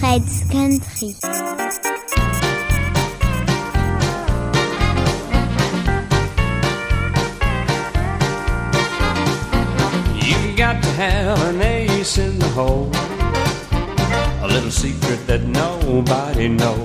Fred's Country. You've got to have an ace in the hole, a little secret that nobody knows.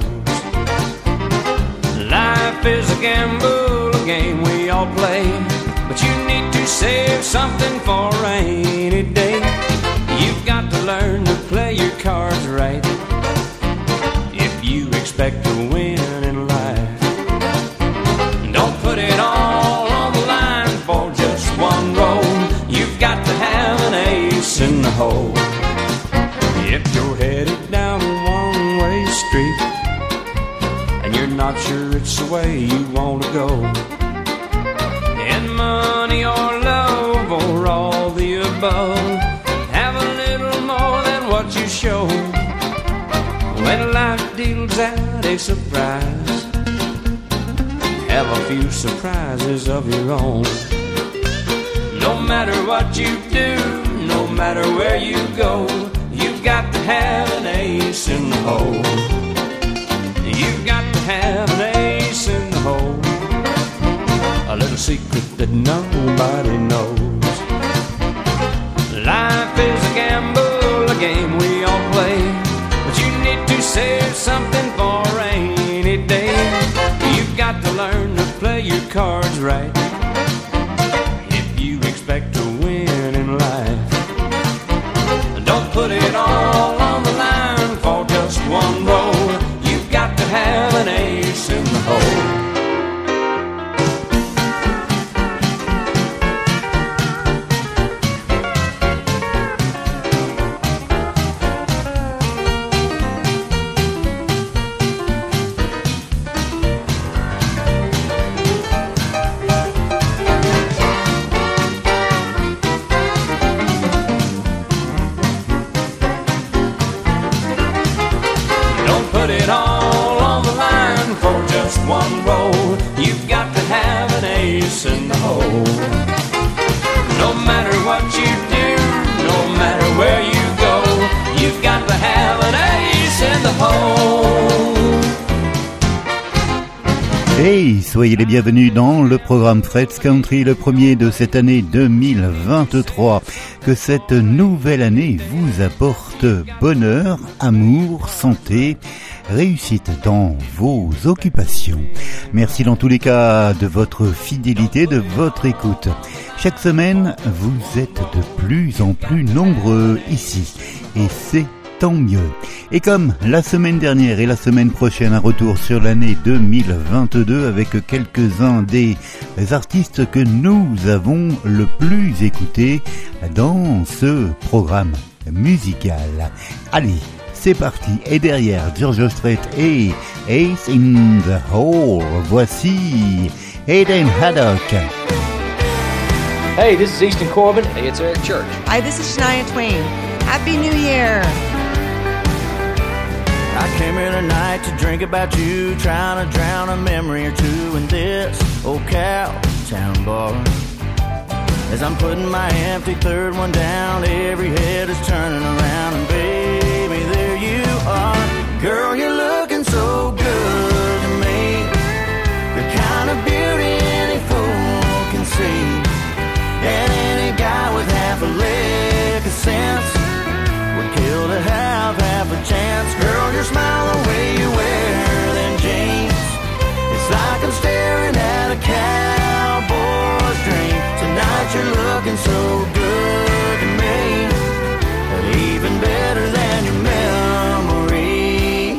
Life is a gamble, a game we all play, but you need to save something for a rainy day. You've got to learn to play your cards right if you expect to win in life. Don't put it all on the line for just one roll. You've got to have an ace in the hole. If you're headed down a one-way street and you're not sure it's the way you want to go, in money or love or all the above, have a little more than what you show. When life deals out a surprise, have a few surprises of your own. No matter what you do, no matter where you go, you've got to have an ace in the hole. You've got to have an ace in the hole, a little secret that nobody knows. Life is a gamble, a game we all play, but you need to save something for a rainy day. You've got to learn to play your cards right if you expect to win in life. Don't put it all on the line for just one roll. You've got to have an ace in the hole. Put it all on the line for just one roll. You've got to have an ace in the hole. No matter what you do, no matter where you go, you've got to have an ace in the hole. Hey, soyez les bienvenus dans le programme Fred's Country, le premier de cette année 2023. Que cette nouvelle année vous apporte bonheur, amour, santé, réussite dans vos occupations. Merci dans tous les cas de votre fidélité, de votre écoute. Chaque semaine, vous êtes de plus en plus nombreux ici, et c'est tant mieux. Et comme la semaine dernière et la semaine prochaine, un retour sur l'année 2022 avec quelques-uns des artistes que nous avons le plus écoutés dans ce programme musical. Allez, c'est parti. Et derrière, George Strait et Ace in the Hole, voici Hayden Haddock. Hey, this is Easton Corbin. Hey, it's Eric Church. Hi, this is Shania Twain. Happy New Year. I came here tonight to drink about you, trying to drown a memory or two in this old Cowtown bar. As I'm putting my empty third one down, every head is turning around, and baby, there you are. Girl, you're looking so good to me, the kind of beauty any fool can see, and any guy with half a lick of sense would kill to have half a chance. Girl, your smile, the way you wear them jeans, it's like I'm staring at a cowboy's dream. Tonight you're looking so good to me, but even better than your memory.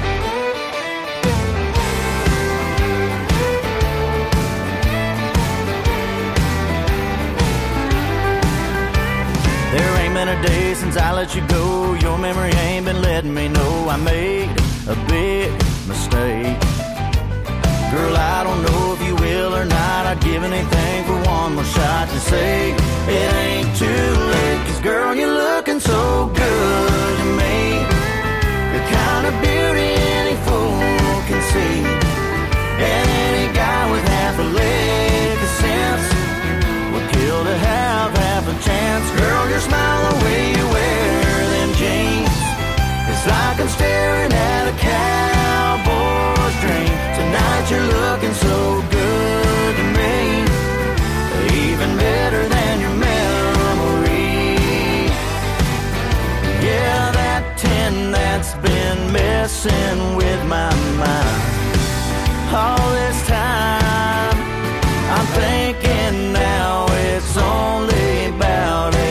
There ain't been a day since I let you go, your memory ain't been letting me know I made a big mistake. Girl, I don't know if you will or not, I'd give anything for one more shot to say it ain't too late. Cause girl, you're looking so good to me, the kind of beauty any fool can see, and any guy with half a lick of sense would kill to have half a chance. Girl, your smile, the way you wear them jeans, it's like I'm staring at a cowboy's dream. Tonight you're looking so good to me, even better than your memory. Yeah, that 10 that's been messing with my mind all this time. I'm thinking now it's only about a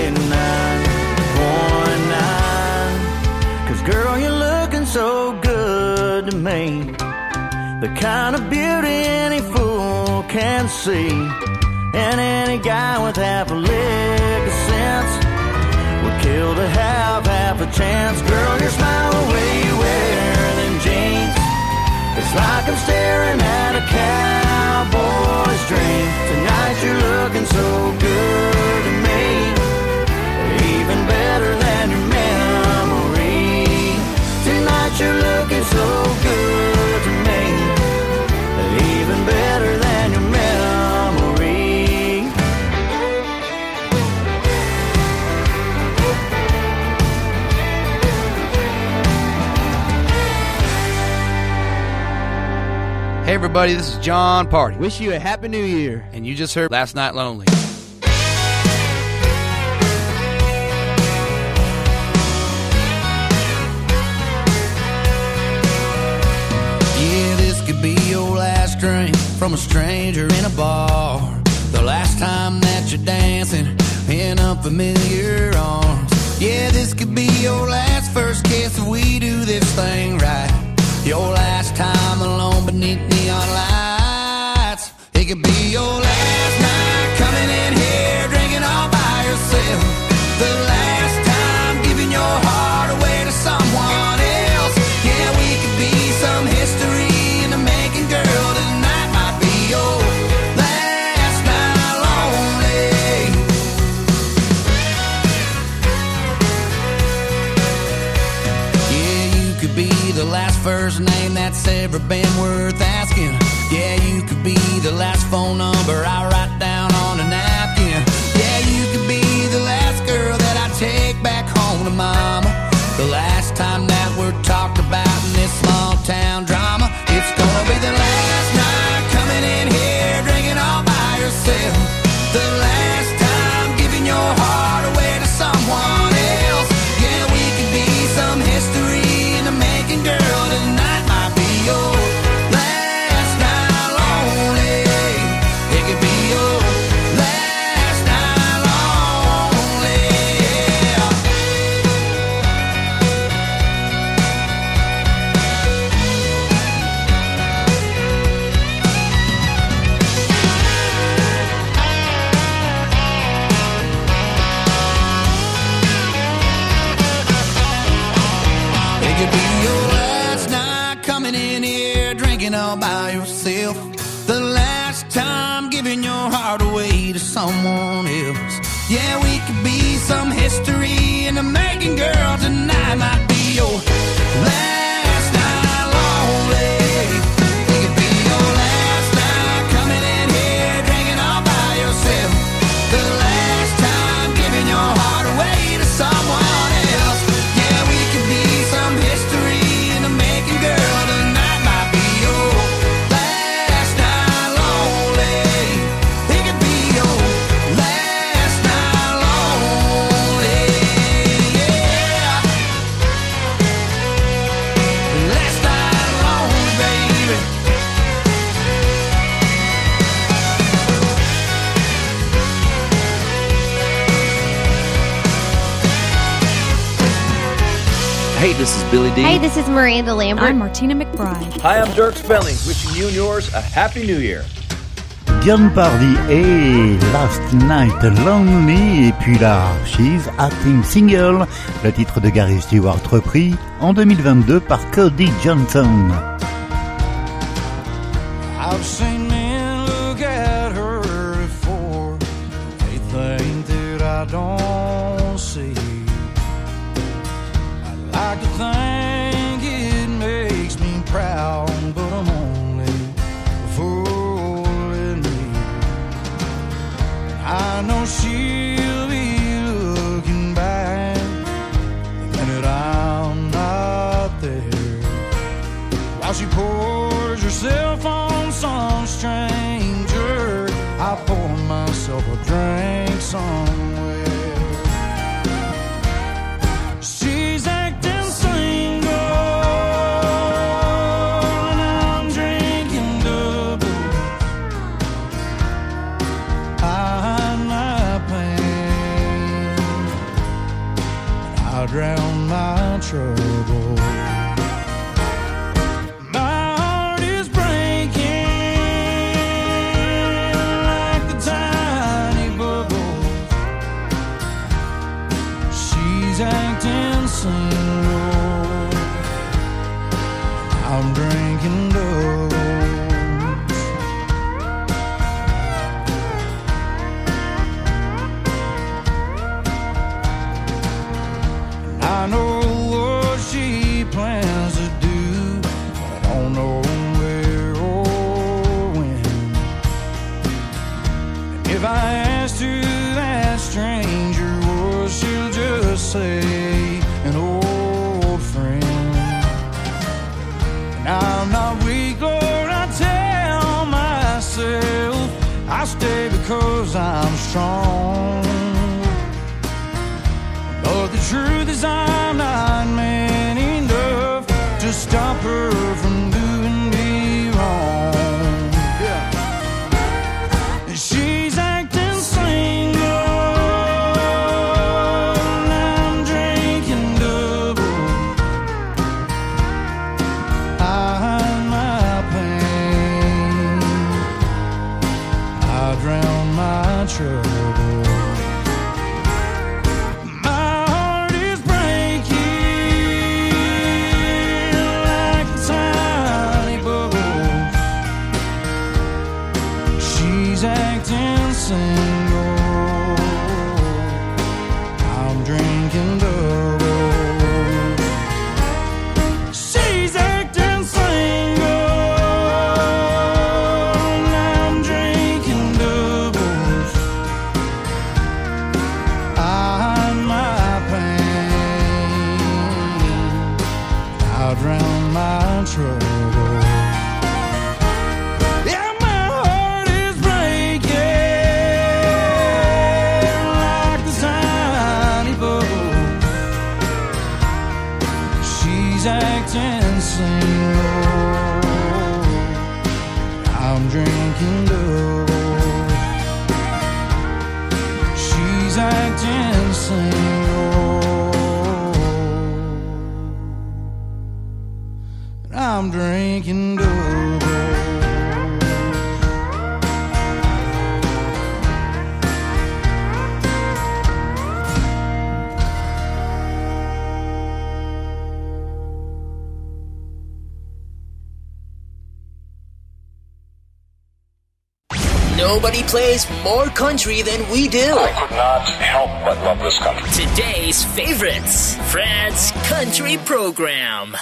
9.9. 'Cause girl, you're looking so good to me, the kind of beauty any fool can see. And any guy with half a lick of sense would kill to have half a chance. Girl, your smile, the way you wear them jeans, it's like I'm staring at a cowboy's dream. Tonight you're looking so good to me, even better than your memory. Tonight you're looking so good to me, even better than your memory. Hey everybody, this is John Party. Wish you a happy new year. And you just heard Last Night Lonely. Yeah, this could be your last drink from a stranger in a bar. The last time that you're dancing in unfamiliar arms. Yeah, this could be your last first kiss if we do this thing right. Your last time alone beneath neon lights. It could be your last night coming in here drinking all by yourself. The last time giving your heart away to someone else. Yeah, we could be some history in the making, girl. Tonight might be your last night lonely. Yeah, you could be the last first name that's ever been worth asking. Yeah, you could be the last phone number I write down on a napkin. Yeah, you could be the last girl that I take back home to mama. The last time that we're talked about in this small town drama. It's gonna be the last night coming in here drinking all by yourself. The last time giving your heart away to someone else. Yeah, we could be some history in the making, girl. Tonight might be your last night lonely. It could be your last night lonely. It could be your last night coming in here drinking all by yourself. The last time giving your heart away to someone else. Yeah, we could be some history in the making, girl. Tonight might be your last night lonely. It could be your last night coming in here drinking all by yourself. The last time giving your heart away to someone else. Yeah, we could be some history in the making, girl. Tonight might be your last night lonely. It could be your last night lonely. Yeah, last night lonely, baby. Hey, this is Billy D. Hey, this is Miranda Lambert. I'm Martina McBride. Hi, I'm Dirk Spelling, wishing you and yours a Happy New Year. John Party et Last Night Lonely, et puis là, She's Acting Single, le titre de Gary Stewart repris en 2022 par Cody Johnson. I've seen men look at her before. They think that I don't see. I'd like to think it makes me proud, but I'm only fooling me. I know she'll be looking back the minute I'm not there. a drink somewhere. She's acting single and I'm drinking double. I hide my pain, I drown my trouble. My heart is breaking like the tiny bubbles. She's acting single, I'm drinking doubles. And I know what she plans to do, but I don't know where or when. And if I asked who that stranger was, she'll just say an old friend. And I'm not weak, Lord, I tell myself I stay because I'm strong. But the truth is I'm not man enough to stop her from doing me wrong. Yeah. And she's acting single and I'm drinking double. I hide my pain, I drown my trouble. My heart is breaking like tiny bubbles. She's acting single, I'm drinking double. She's acting single and I'm drinking doubles. I hide my pain, I drown my trouble. Yeah, my heart is breaking like the tiny bubbles. She's acting single, I'm drinking double. She's acting single, I'm drinking double. Nobody plays more country than we do. I could not help but love this country. Today's favorites, Fred's Country Program.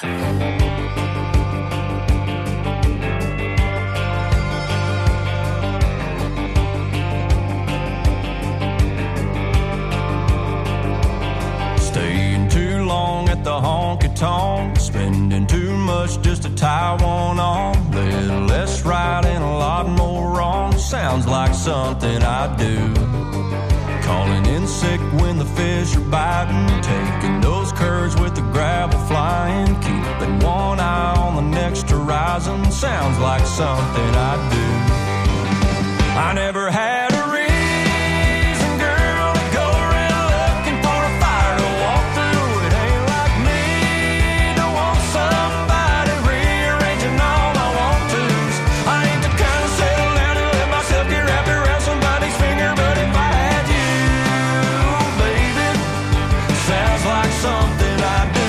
Staying too long at the honky-tonk, spending too much just to tie one on. Little less right and a lot more wrong. Sounds like something I do. Calling in sick when the fish are biting, taking those curves with the gravel flying, keeping one eye on the next horizon. Sounds like something I do. I never had a reason, girl, to go around looking for a fire to walk through. It ain't like me to want somebody rearranging all my want-tos. I ain't the kind of settle down and let myself get wrapped around somebody's finger, but if I had you, baby, sounds like something I do.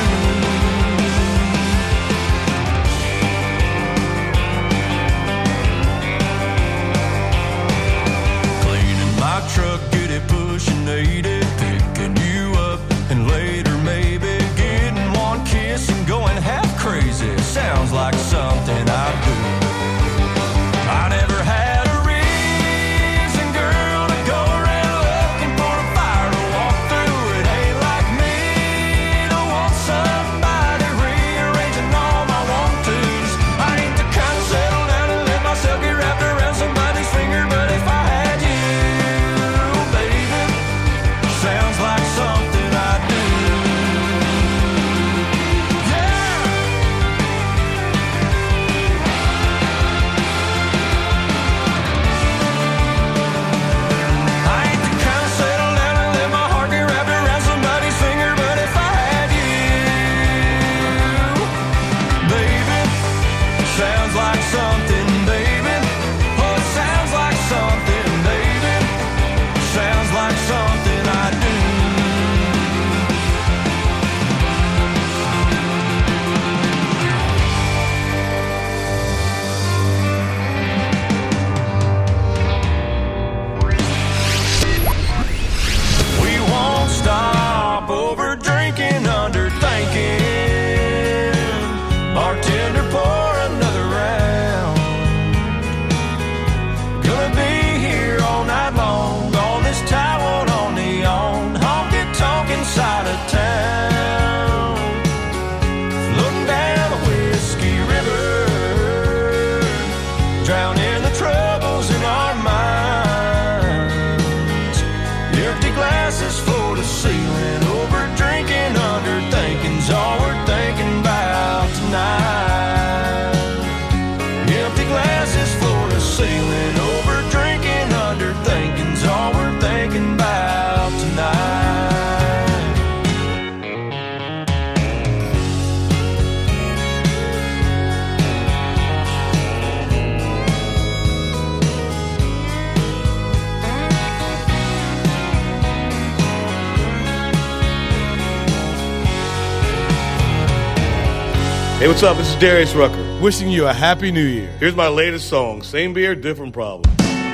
Hey, what's up? This is Darius Rucker. Wishing you a happy new year. Here's my latest song, Same Beer, Different Problem.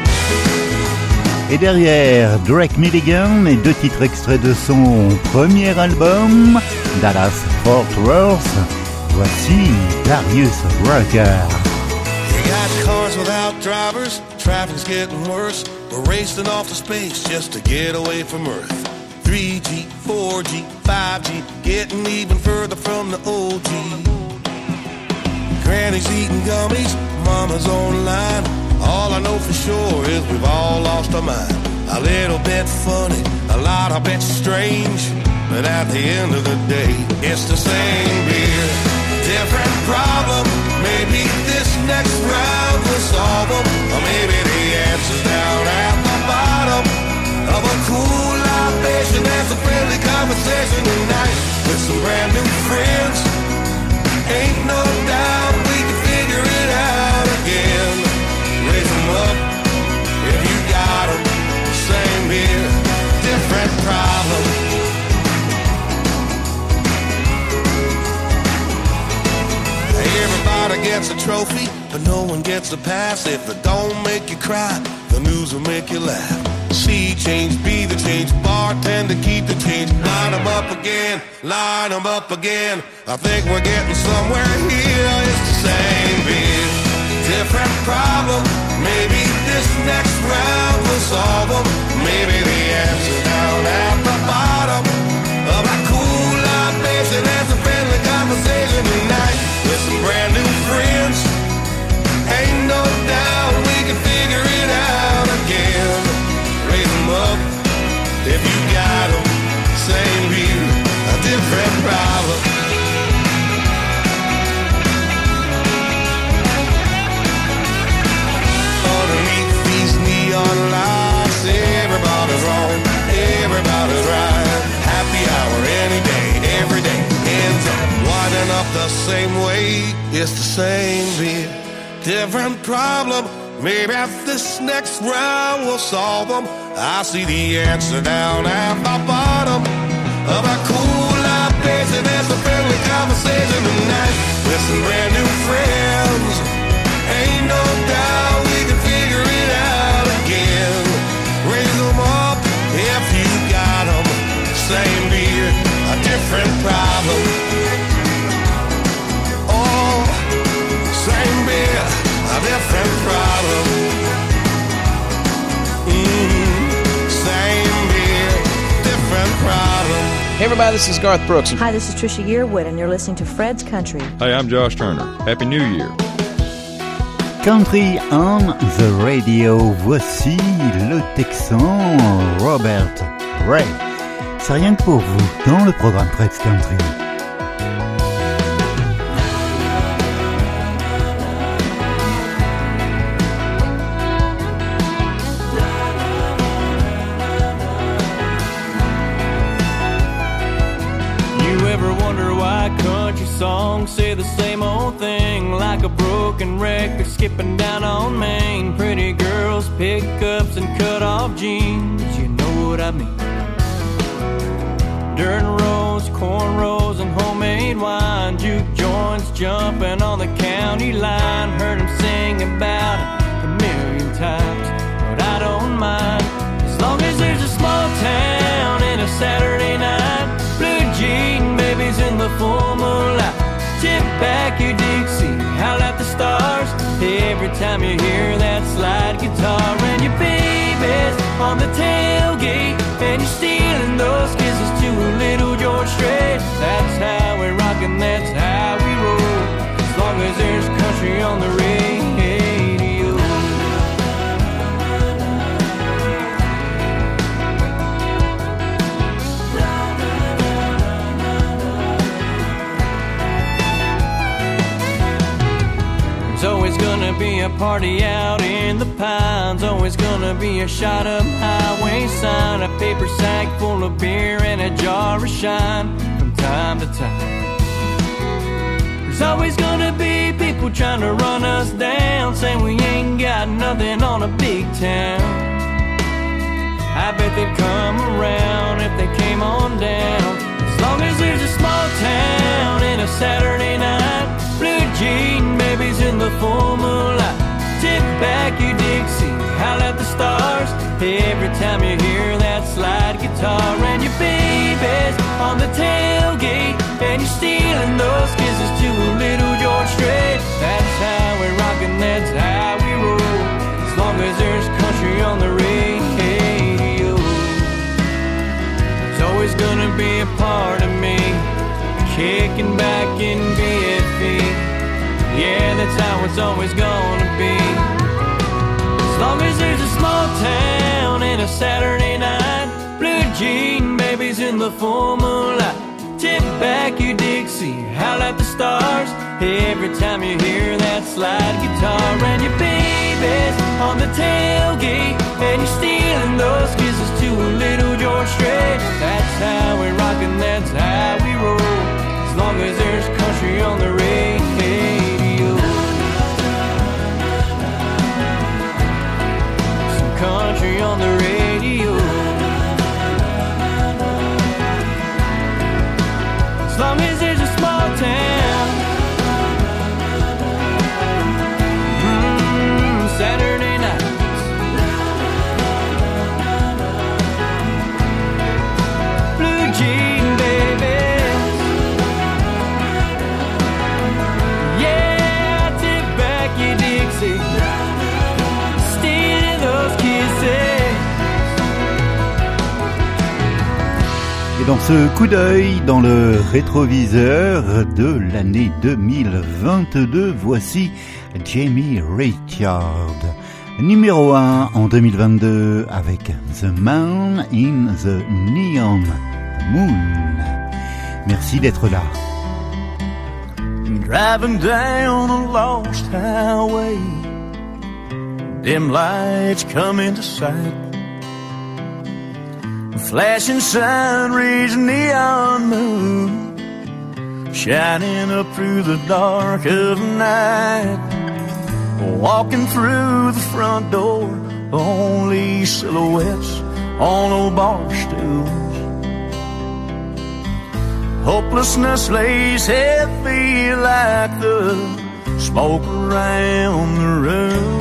Et derrière, Drake Milligan et 2 titres extraits de son premier album, Dallas Fort Worth. Voici Darius Rucker. You got cars without drivers, traffic's getting worse. We're racing off to space just to get away from Earth. 3G, 4G, 5G, getting even further from the OG. Granny's eating gummies, mama's online. All I know for sure is we've all lost our mind. A little bit funny, a lot of bit strange, but at the end of the day, it's the same beer, different problem. Maybe this next round will solve them, or maybe the answer's down at the bottom of a cool libation. There's a friendly conversation tonight with some brand new friends. Ain't no doubt we can figure it out again. Raise them up if you got them. Same beer, different problem. Everybody gets a trophy, but no one gets a pass. If it don't make you cry, the news will make you laugh. See change, be the change, bartender keep the change. Line them up again, line them up again. I think we're getting somewhere here. It's the same beer, different problem. Maybe this next round will solve them. Maybe the answer down at the bottom of a cool libation. There's a friendly conversation tonight with some brand new friends. Ain't no doubt we can figure it out again. Raise them up if you got them. Same beer, a different problem. Underneath these neon lights, everybody's wrong, everybody's right. Happy hour any day, every day ends up winding up the same way. It's the same beer, different problem. Maybe this next round will solve them. I see the answer down at the bottom of a cool libation. There's a friendly conversation tonight with some brand new friends. Ain't no doubt we can figure it out again. Raise them up if you got them. Same beer, a different problem. Oh, same beer, a different problem. Same beer, different problem. Hey everybody, this is Garth Brooks. Hi, this is Trisha Yearwood, and you're listening to Fred's Country. Hey, I'm Josh Turner. Happy New Year. Country on the radio. Voici le Texan Robert Ray. C'est rien que pour vous dans le programme Fred's Country. Songs say the same old thing, like a broken record skipping down on Main. Pretty girls, pickups, and cut-off jeans, you know what I mean. Dirt roads, cornrows, and homemade wine. Juke joints jumping on the county line. Heard him sing about it a million times, but I don't mind, as long as there's a small town and a Saturday night. Blue jean babies in the full moonlight. Tip back your Dixie, howl at the stars. Every time you hear that slide guitar. And your baby's on the tailgate, and you're stealing those kisses to a little George Strait. That's how we rock and that's how we roll, as long as there's country on the radio. There's always gonna be a party out in the pines. Always gonna be a shot up highway sign. A paper sack full of beer and a jar of shine from time to time. There's always gonna be people trying to run us down, saying we ain't got nothing on a big town. I bet they'd come around if they came on down, as long as there's a small town and a Saturday night. the full moonlight. Tip back your Dixie, howl at the stars. Every time you hear that slide guitar. And your baby's on the tailgate, and you're stealing those kisses to a little George Strait. That's how we rock and that's how we roll, as long as there's country on the radio. There's always gonna be a part of me kicking back in BFE. Yeah, that's how it's always gonna be. As long as there's a small town and a Saturday night, blue jean babies in the full moonlight. Tip back your Dixie, howl at the stars. Every time you hear that slide guitar. And your baby's on the tailgate, and you're stealing those kisses to a little George Strait. That's how we rock and that's how we roll, as long as there's country on the radio. Some country on the radio. As long as there's a small town. Saturday nights. Blue jean babies. Yeah, take back your Dixie, stealing those kisses. Et dans ce coup d'œil dans le rétroviseur de l'année 2022, voici Jamie Richard, numéro 1 en 2022 avec The Man in the Neon Moon. Merci d'être là. Driving down a lost highway, dim lights come into sight. A flashing sign reads neon moon, shining up through the dark of night. Walking through the front door, only silhouettes on old bar stools. Hopelessness lays heavy like the smoke around the room.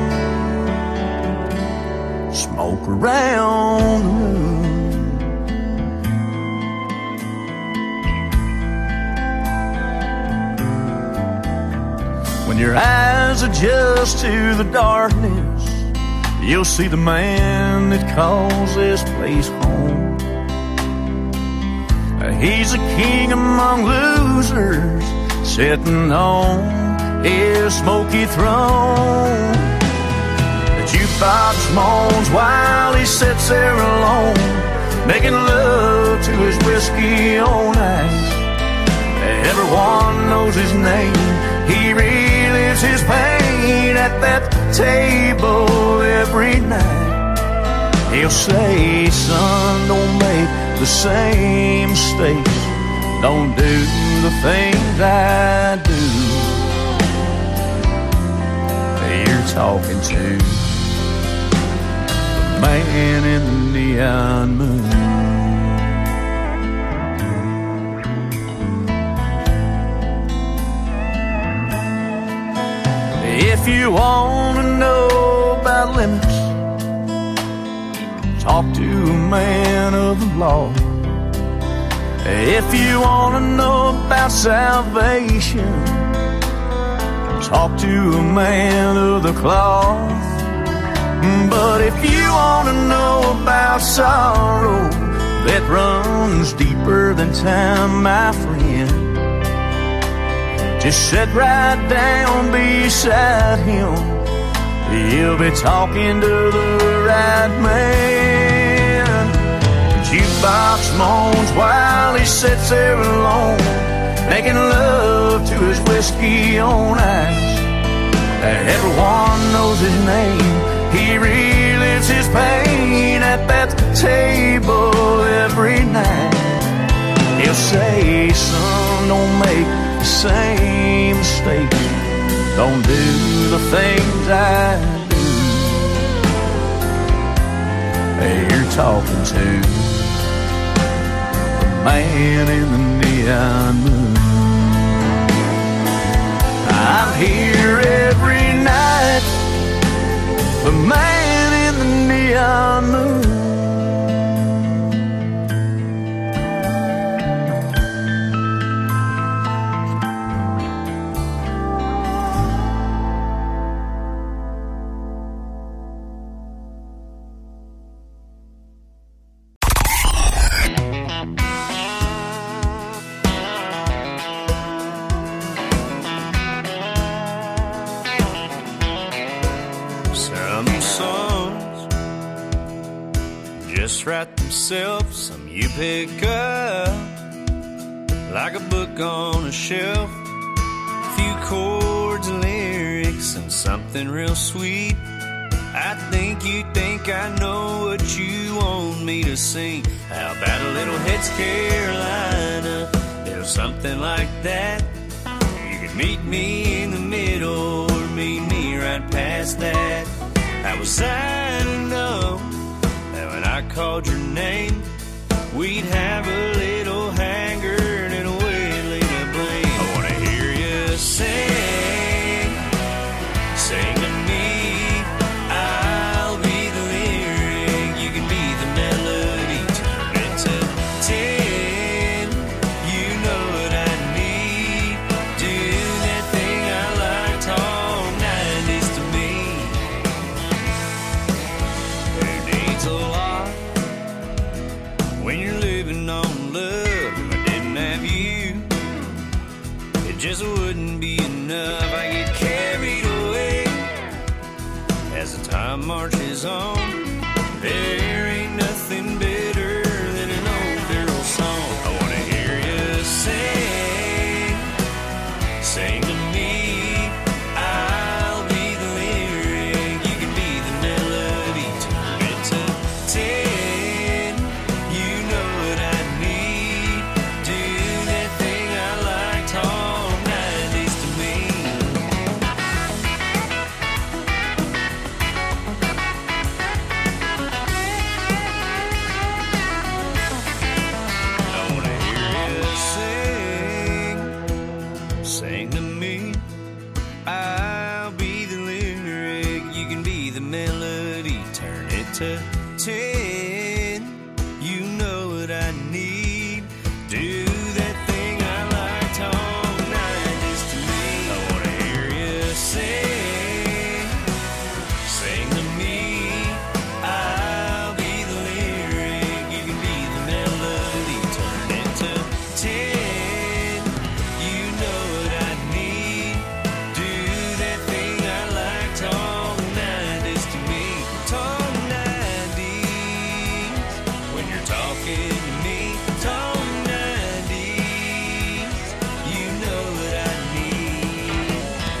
Smoke around the room. When your eyes adjust to the darkness, you'll see the man that calls this place home. He's a king among losers, sitting on his smoky throne. The jukebox moans while he sits there alone, making love to his whiskey on ice. Everyone knows his name. He relives his pain at that table every night. He'll say, son, don't make the same mistakes. Don't do the things I do. You're talking to the man in the neon moon. If you want to know about limits, talk to a man of the law. If you want to know about salvation, talk to a man of the cloth. But if you want to know about sorrow that runs deeper than time, my friend, just sit right down beside him. He'll be talking to the right man. The jukebox moans while he sits there alone, making love to his whiskey on ice. Everyone knows his name. He relives his pain at that table every night. He'll say, son, don't make the same mistake. Don't do the things I do. You're talking to the man in the neon moon. I'm here the man in the neon moon. Write themselves, some you pick up like a book on a shelf. A few chords and lyrics and something real sweet. I think you think I know what you want me to sing. How about a little Heads Carolina, or something like that? You could meet me in the middle or meet me right past that. I was signing up. When I called your name, we'd have a little hanger and a wailing to blame. I wanna hear you sing, sing to me. I'll be the lyric, you can be the melody. Turn it to 10, you know what I need. Do that thing I liked all 90s to me. Who needs a lot when you're living on love? If I didn't have you, it just wouldn't be enough. I get carried away as the time marches on. There ain't nothing better than an old girl song. I wanna hear you sing, sing to me. I'll be the lyric, you can be the melody. Turn it to 10, you know what I need. Do that thing I liked all 90s to me. I wanna hear you sing, sing to me. I'll be the lyric, you can be the melody. Turn it to 10, you know what I need. Do that thing I liked all 90s to me. I wanna hear you sing, sing to me. I'll be the lyric, you can be the melody. Turn it to 10, you know what I need. Do that thing I liked all 90s to me. All 90s, when you're talking to me. All 90s, you know what I need.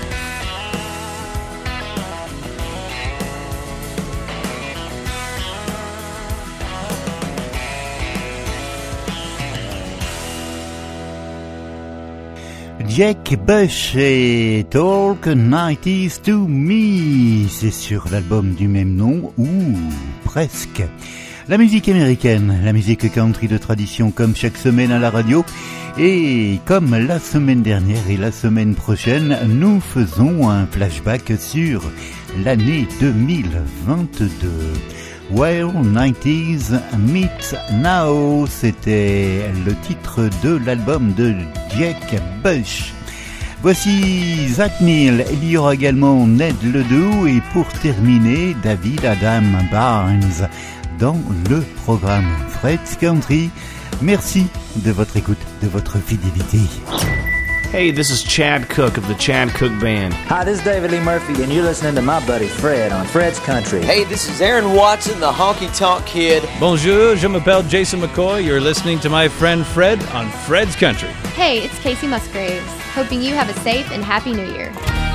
Jack Bush et Talk 90s to Me, c'est sur l'album du même nom, ou presque. La musique américaine, la musique country de tradition comme chaque semaine à la radio, et comme la semaine dernière et la semaine prochaine, nous faisons un flashback sur l'année 2022. Well, 90s Meet Now, c'était le titre de l'album de Jack Bush. Voici Zach Neal, il y aura également Ned Ledoux et pour terminer, David Adam Barnes dans le programme Fred's Country. Merci de votre écoute, de votre fidélité. Hey, this is Chad Cook of the Chad Cook Band. Hi, this is David Lee Murphy, and you're listening to my buddy Fred on Fred's Country. Hey, this is Aaron Watson, the Honky Tonk Kid. Bonjour, je m'appelle Jason McCoy. You're listening to my friend Fred on Fred's Country. Hey, it's Casey Musgraves. Hoping you have a safe and happy New Year.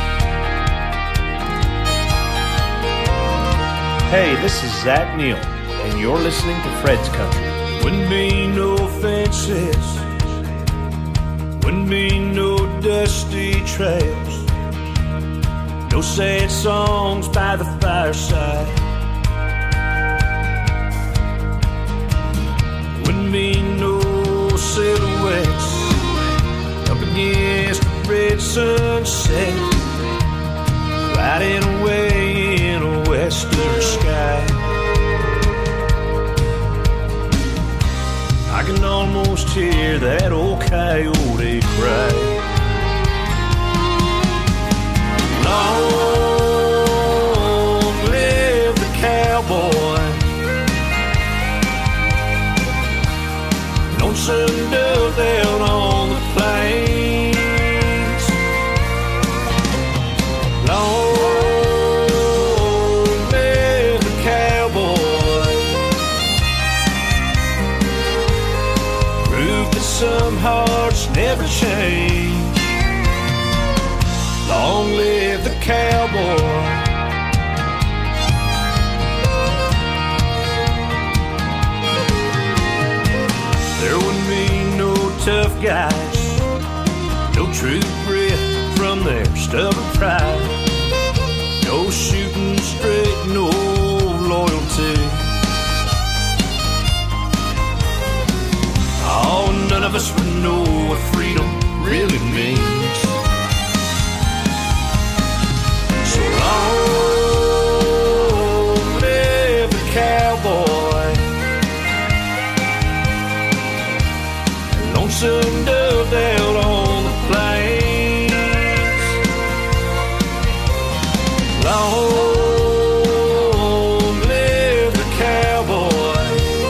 Hey, this is Zach Neal, and you're listening to Fred's Country. Wouldn't be no fences, wouldn't be no dusty trails, no sad songs by the fireside, wouldn't be no silhouettes up against the red sunset, riding away in a western hear that old coyote cry. Long live the cowboy, lonesome dove down on the plains. Long live the cowboy, prove that some hearts never change. Long live the cowboy. There wouldn't be no tough guys, no true grit from their stubborn pride, no shooting straight, no loyalty. Oh, none of us would know what freedom really means. So long live the cowboy, lonesome dove down on the plains. Long live the cowboy,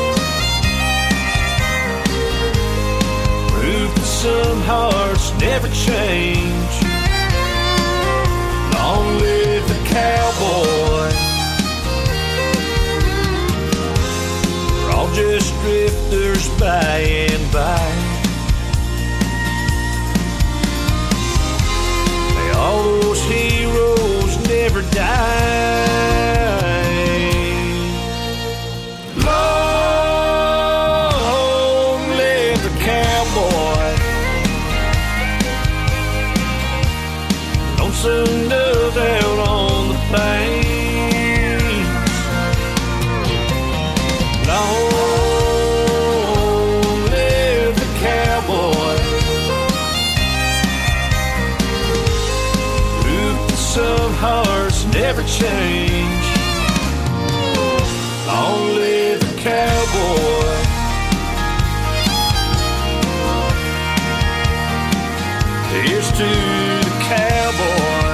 prove that some hearts never change. Long live the cowboy. We're all just drifters by and by. May all those heroes never die. Long live the cowboy, lonesome dove down on the plains. Long live the cowboy, prove that some hearts never change. Long live the cowboy. Here's to the cowboy.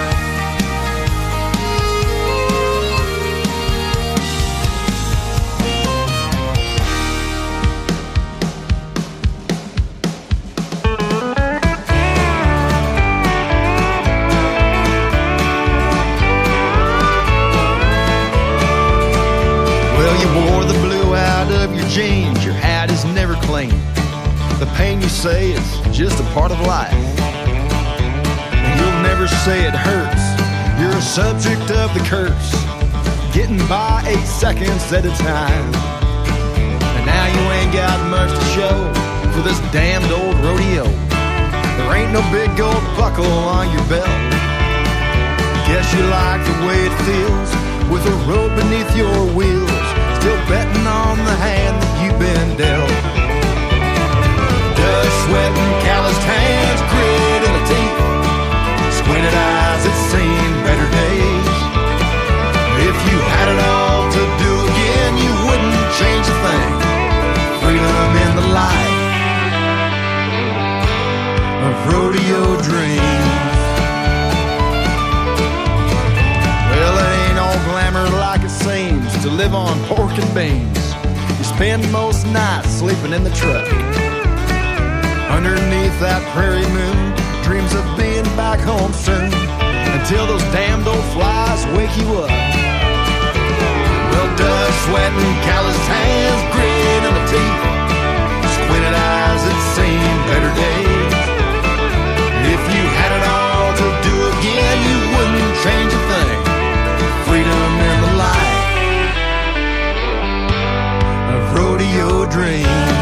Well, you wore the blue out of your jeans. Your hat is never clean. The pain you say is just a part of life. You'll never say it hurts. You're a subject of the curse, getting by 8 seconds at a time. And now you ain't got much to show for this damned old rodeo. There ain't no big gold buckle on your belt. Guess you like the way it feels with a road beneath your wheels, still betting on the hand that you've been dealt. Dust, sweat, and calloused hands, grit in the teeth, squinted eyes that seen better days. If you had it all to do again, you wouldn't change a thing. Freedom in the light of rodeo dreams. Well, it ain't all glamour like it seems to live on pork and beans. You spend most nights sleeping in the truck underneath that prairie moon, dreams of being back home soon, until those damned old flies wake you up. Well, dust, sweat, and calloused hands, grit in the teeth, squinted eyes that seen better days. If you had it all to do again, you wouldn't change a thing. Freedom in the light of rodeo dreams.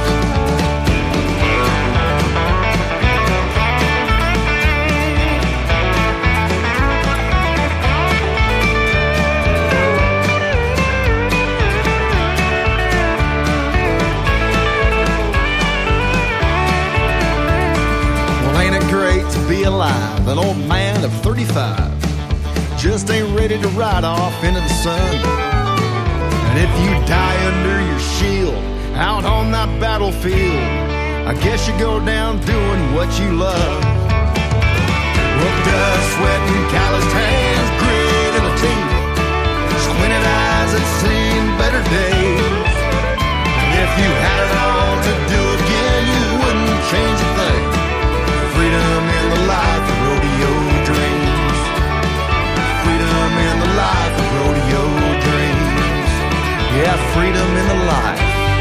Alive, an old man of 35 just ain't ready to ride off into the sun. And if you die under your shield out on that battlefield, I guess you go down doing what you love. Well, dust, sweat, and calloused hands, grit in the teeth, squinted eyes had seen better days. And if you had it all to do again, you wouldn't change a thing. Freedom in the life of rodeo dreams. Freedom in the life of rodeo dreams. Yeah, freedom in the life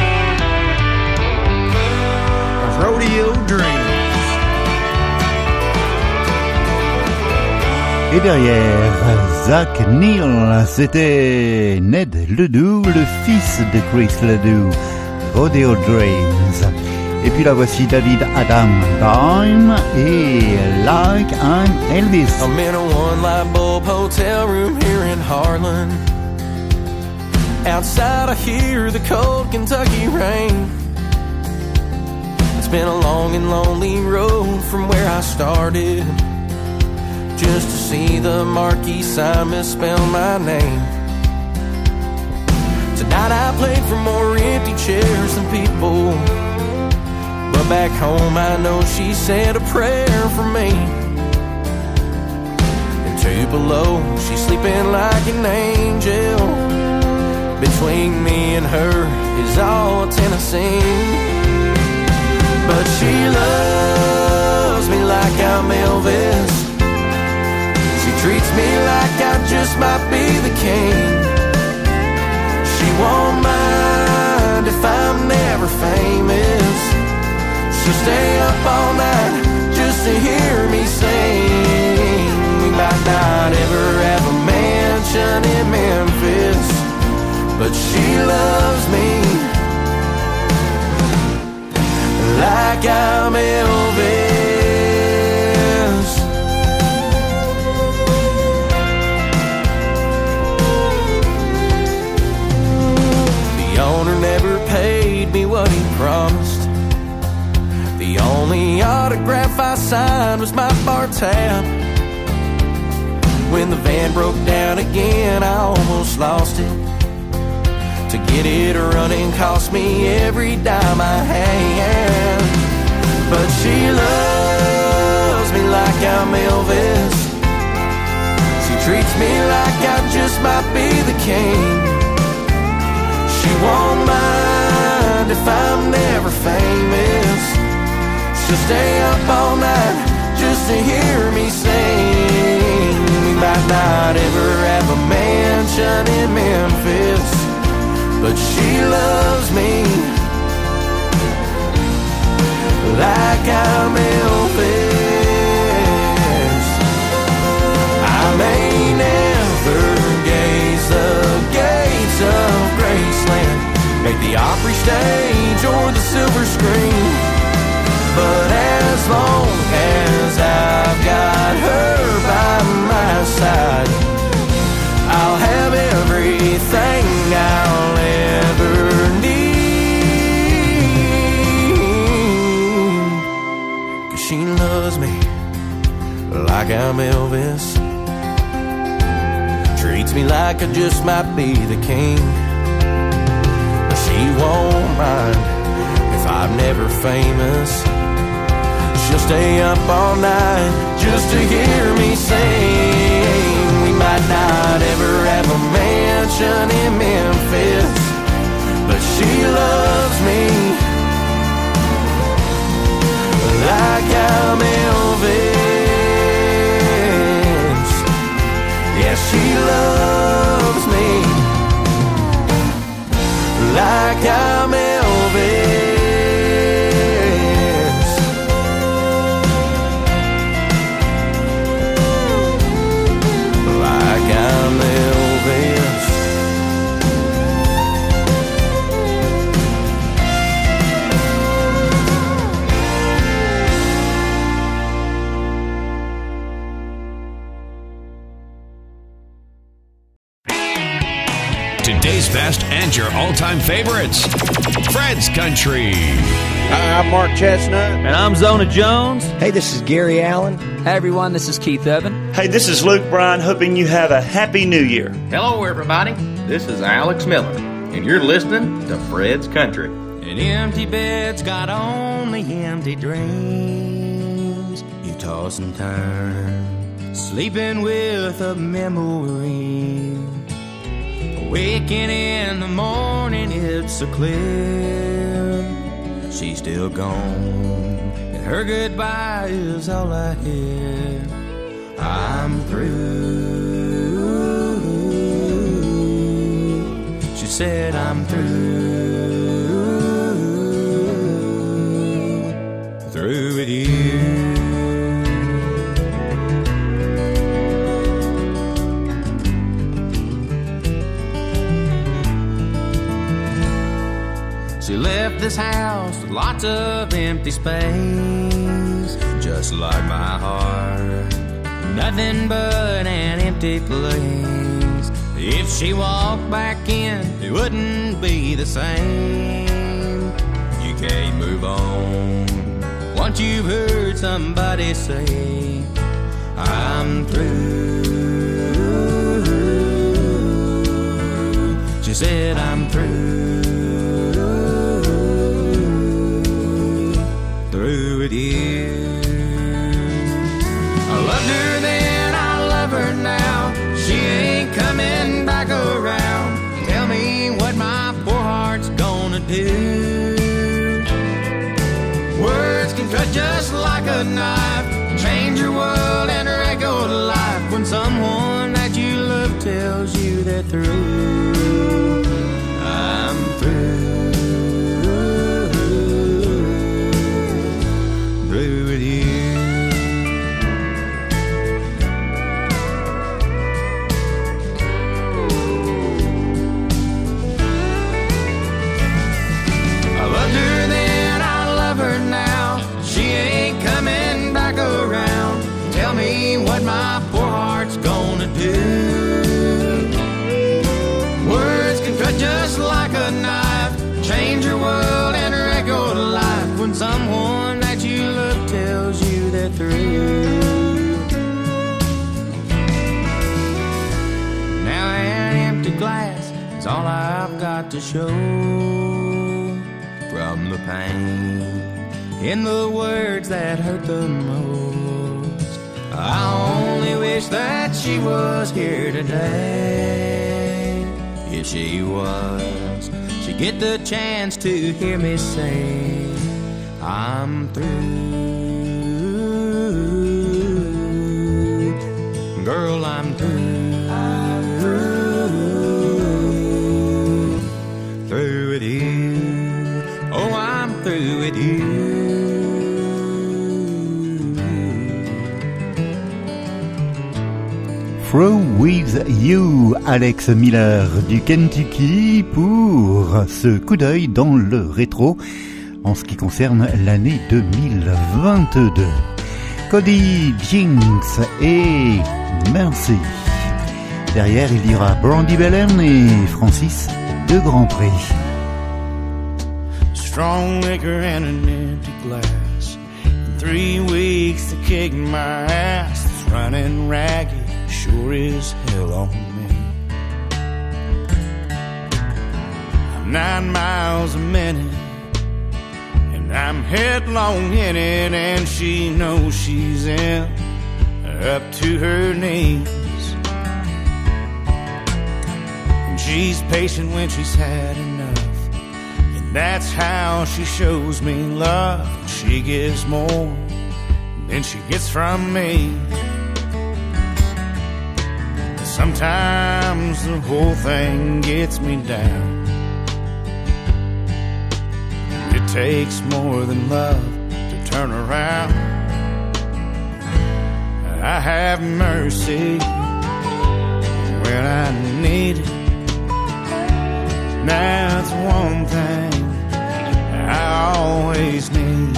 of rodeo dreams. Et derrière Zach Neal, c'était Ned Ledoux, le fils de Chris Ledoux, Rodeo Dreams. Et puis la voici David Adam Dime et Like I'm Elvis. I'm in a one-light bulb hotel room here in Harlan. Outside I hear the cold Kentucky rain. It's been a long and lonely road from where I started, just to see the marquee sign misspell my name. Tonight I played for more empty chairs than people, but back home I know she said a prayer for me. And Tupelo, she's sleeping like an angel. Between me and her is all Tennessee. But she loves me like I'm Elvis. She treats me like I just might be the king. She won't mind if I'm never famous. She'll stay up all night just to hear me sing. We might not ever have a mansion in Memphis, but she loves me like I'm Elvis. The owner never paid me what he promised. The only autograph I signed was my bar tab. When the van broke down again, I almost lost it. To get it running cost me every dime I had. But she loves me like I'm Elvis. She treats me like I just might be the king. She won't mind if I'm never famous. She'll stay up all night just to hear me sing. We might not ever have a mansion in Memphis, but she loves me like I'm Elvis. I may never gaze the gates of Graceland, make the Opry stage or the silver screen, but as long as I've got her by my side, I'll have everything I'll ever need. 'Cause she loves me like I'm Elvis. Treats me like I just might be the king. But she won't mind if I'm never famous. She'll stay up all night just to hear me sing. We might not ever have a mansion in Memphis, but she loves me like I'm Elvis. Yeah, she loves me like I'm Elvis. I'm Elvis. Today's best and your all-time favorites. Fred's Country. Hi, I'm Mark Chestnut. And I'm Zona Jones. Hey, this is Gary Allen. Hey, everyone, this is Keith Evan. Hey, this is Luke Bryan, hoping you have a happy new year. Hello, everybody. This is Alex Miller, and you're listening to Fred's Country. And And empty beds got only empty dreams. You toss and turn, sleeping with a memory. Waking in the morning, it's so clear she's still gone, and her goodbye is all I hear. I'm through. She said I'm through with you. She left this house with lots of empty space, just like my heart, nothing but an empty place. If she walked back in, it wouldn't be the same. You can't move on once you've heard somebody say, I'm through. She said, I'm through. Through with you. I loved her then, I love her now. She ain't coming back around. Tell me what my poor heart's gonna do. Words can cut just like a knife, change your world and regular life. When someone that you love tells you they're through, I'm through. Through with you. I loved her then, I love her now. She ain't coming back around. Tell me what my poor heart's gonna do. Words can cut just like a knife, change your world and regular life. When someone that you love tells you they're through. Now an empty glass is all I've got to show from the pain in the words that hurt the most. I only wish that she was here today. If she was, she'd get the chance to hear me say, I'm through. Girl, I'm through. I'm through. Through with you. Oh, I'm through with you. Through with you, Alex Miller du Kentucky pour ce coup d'œil dans le rétro en ce qui concerne l'année 2022. Cody Jinks et Mercy. Derrière, il y aura Brandi Belen et Francis de Grand Prix. Strong liquor and an empty glass. In 3 weeks to kick my ass. It's running ragged, sure as hell on me. I'm 9 miles a minute, and I'm headlong in it, and she knows she's in, up to her knees. And she's patient when she's had enough, and that's how she shows me love. She gives more than she gets from me. Sometimes the whole thing gets me down. It takes more than love to turn around. I have mercy when I need it. That's one thing I always need,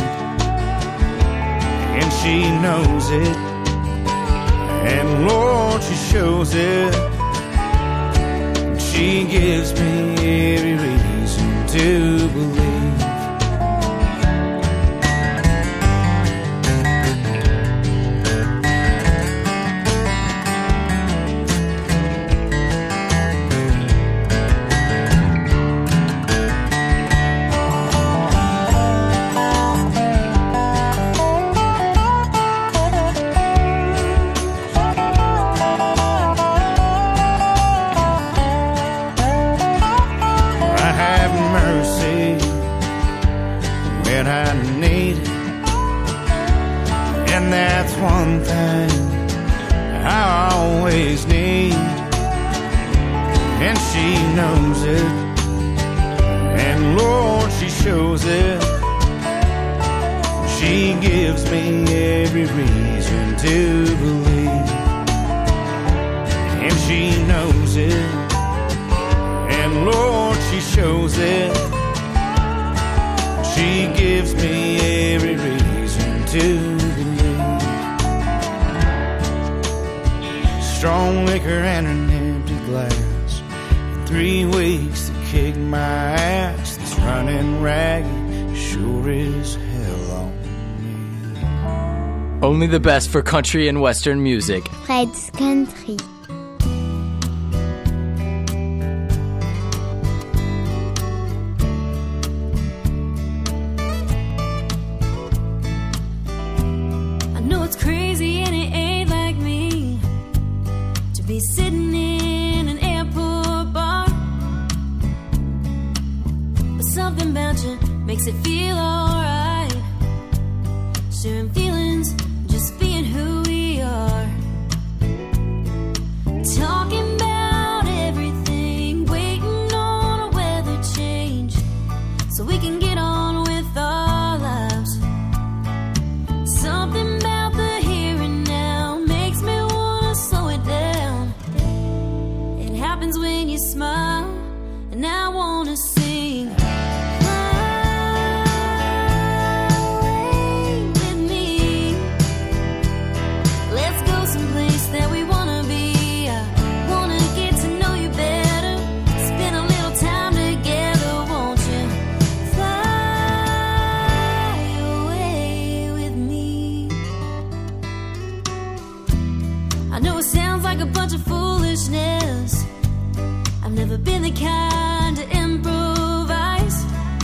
and she knows it. And Lord, she shows it. She gives me every reason to believe. always need, and she knows it, and Lord, she shows it. She gives me every reason to believe, and she knows it, and Lord, she shows it. She gives me every reason to believe. Strong liquor and an empty glass, 3 weeks to kick my ass. This running ragged sure is hell on me. Only the best for country and western music. Fred's Country. Sitting in an airport bar, but something about you makes it feel alright. Sharing feelings, just being who we are. Talking about everything, waiting on a weather change, so we can get on with our lives. Something about the here and now makes me wanna slow it down. Happens when you smile, and I wanna sing. Fly away with me. Let's go someplace that we wanna be. I wanna get to know you better. Spend a little time together, won't you? Fly away with me. I know it sounds like a bunch of foolishness. I've never been the kind to improvise,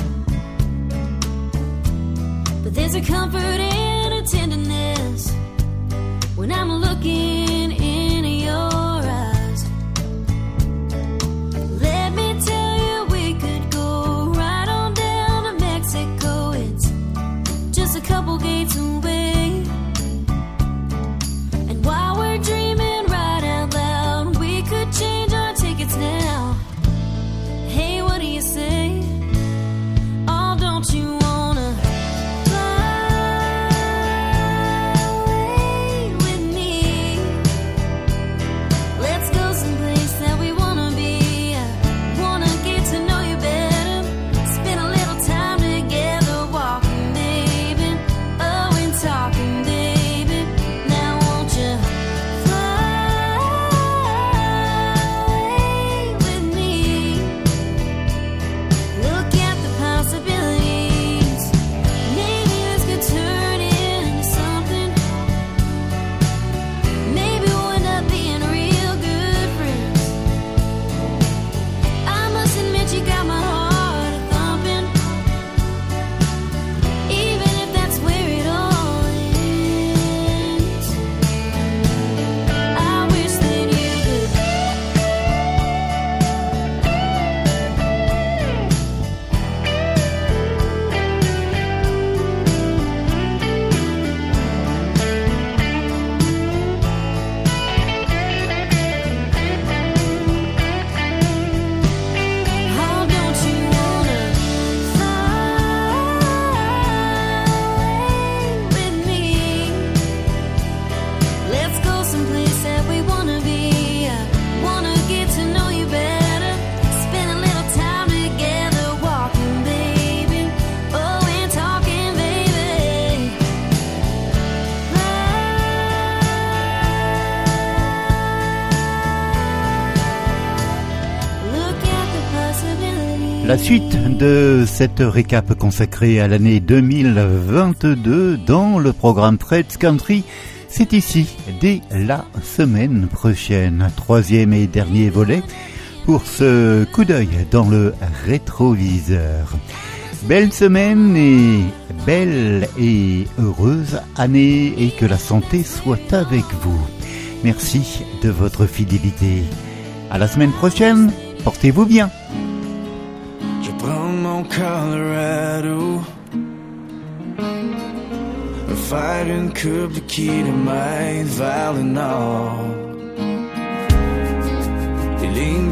but there's a comfort and a tenderness when I'm looking in your eyes. Let me tell you, we could go right on down to Mexico. It's just a couple gates away, and while we're dreaming right out loud, we could change our tickets now. Hey, what do you say? Oh, don't you wanna fly away with me? Let's go someplace that we wanna be. I wanna get to know you better. Spend a little time together, walking, baby. Oh, and talking, baby. Now won't you fly away with me? Look at the possibilities. Maybe this could turn into something. Maybe we'll end up being real good friends. I must admit you got my heart a-thumping, even if that's where it all ends. I wish that you could. Oh, don't you wanna fly away with me? Let's go someplace that we wanna be. I wanna get to know you better. Spend a little time together, walking, baby. Oh, and talking, baby. Look at the possibilities. La suite de cette récap consacrée à l'année 2022 dans le programme Fred's Country, c'est ici, dès la semaine prochaine. 3e et dernier volet pour ce coup d'œil dans le rétroviseur. Belle semaine et belle et heureuse année, et que la santé soit avec vous. Merci de votre fidélité. À la semaine prochaine, portez-vous bien. Je prends mon Colorado, a fighting curb, the key to my Valinor.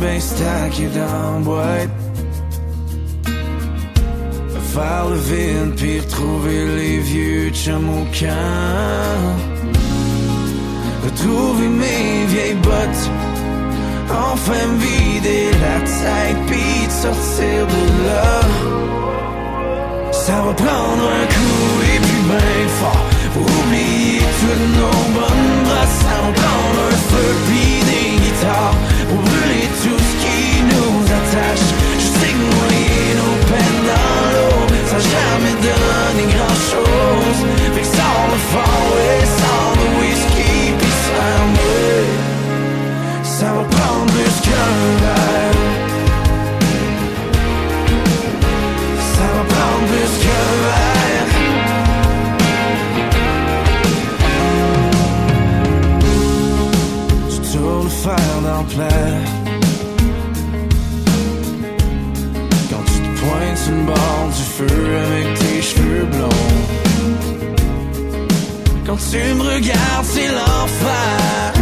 ben stacké dans la boîte. Faire le vide puis retrouver les vieux chums au camp. Retrouver mes vieilles bottes. Enfin me vider la tête puis de sortir de là. Ça va prendre un coup et puis ben fort pour oublier toutes nos bonnes brasses. Ça va prendre un feu puis des guitares pour brûler tout ce qui nous attache. Je sais que noyer nos peines dans l'eau, ça jamais donné grand chose. Fait que sors le fort et sors le whisky pis serre-moi. Ça va prendre plus qu'un verre. Ça va prendre plus qu'un verre. Tu tournes le fer dans le plat. Quand tu te pointes sur le bord du feu avec tes cheveux blonds. Quand tu me regardes, c'est l'enfer.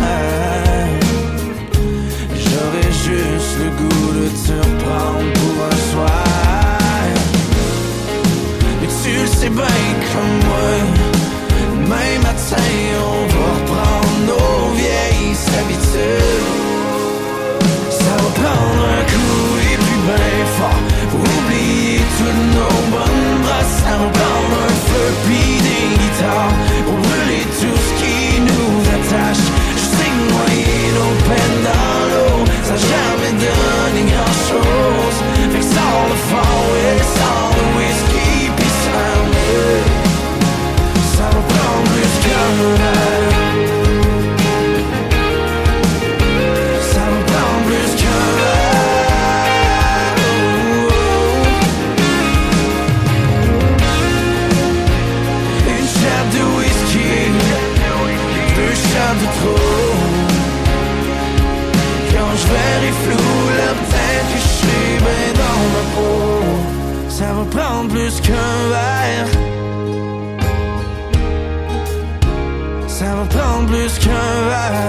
J'aurais juste le goût de te reprendre pour un soir. Mais tu le sais bien comme moi. Demain matin, on va reprendre nos vieilles habitudes. Ça va prendre un coup et puis ben fort pour oublier toutes nos bonnes brasses. Ça va prendre un feu puis des guitares pour brûler tout ce qui nous attache. Je sais que noyer nos peines dans l'eau, ça n'a jamais donné grand chose. Fait que sors le fort et sors le whisky pis serre-moi. Ça va prendre plus qu'un verre. Ça va prendre plus qu'un verre. Une shot de whisky, 2 shots de trop. Quand je verrai flou, la tête que je suis ben dans ma peau. Ça va prendre plus qu'un verre. Ça va prendre plus qu'un verre.